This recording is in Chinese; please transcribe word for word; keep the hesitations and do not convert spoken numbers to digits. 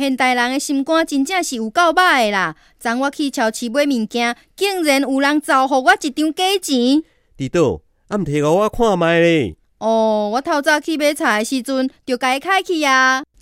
现代人的心肝真正是有够歹的啦！昨我去超市买物件，竟然有人造予我一张假钱。 伫倒？啊，毋摕互我看卖咧？ 哦，我透早去买菜的时阵，就甲伊开去啊。